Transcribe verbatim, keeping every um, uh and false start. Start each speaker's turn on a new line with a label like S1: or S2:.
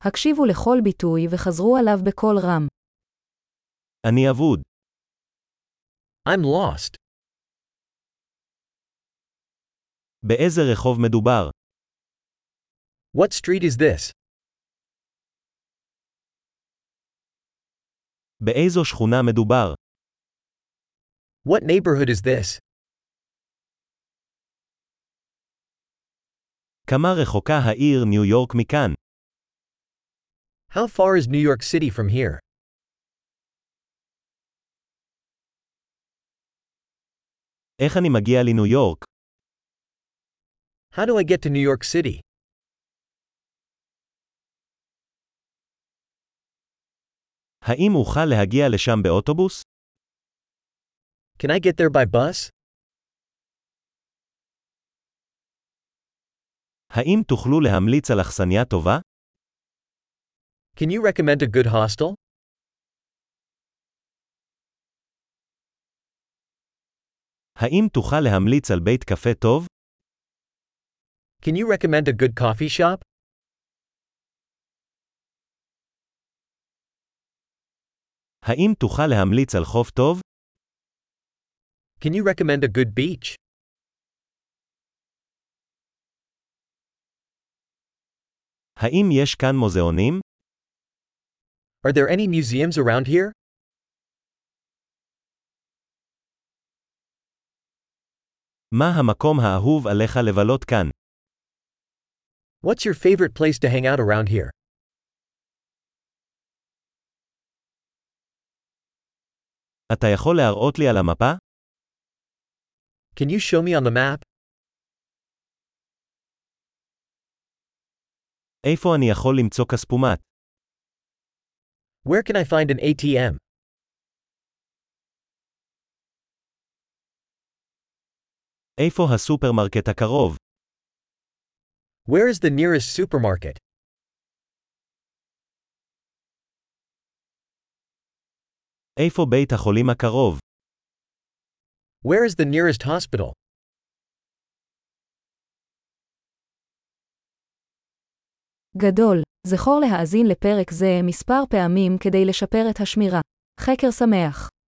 S1: הקשיבו לכל ביטוי וחזרו עליו בקול רם.
S2: אני אבוד.
S3: I'm lost.
S2: באיזה רחוב מדובר?
S3: What street is this?
S2: באיזו שכונה מדובר?
S3: What neighborhood is this?
S2: כמה רחוקה העיר ניו יורק מכאן?
S3: How far is New York City from here?
S2: איך אני מגיע לניו יורק?
S3: How do I get to New York City?
S2: האם אוכל להגיע לשם באוטובוס?
S3: Can I get there by bus?
S2: האם תוכלו להמליץ על אכסניה טובה?
S3: Can you recommend a good hostel?
S2: האם תוכל להמליץ על בית קפה טוב?
S3: Can you recommend a good coffee shop?
S2: האם תוכל להמליץ על חוף טוב?
S3: Can you recommend a good beach?
S2: האם יש כאן מוזיאונים?
S3: Are there any museums around here?
S2: מה המקום האהוב עליך לבלות כאן?
S3: What's your favorite place to hang out around here?
S2: אתה יכול להראות לי על המפה?
S3: Can you show me on the map?
S2: איפה אני יכול למצוא כספומט?
S3: Where can I find an A T M?
S2: איפה הסופרמרקט הקרוב?
S3: Where is the nearest supermarket?
S2: איפה בית החולים הקרוב?
S3: Where is the nearest hospital?
S1: גדול, זכור להאזין לפרק זה מספר פעמים כדי לשפר את השמירה. חקר שמח.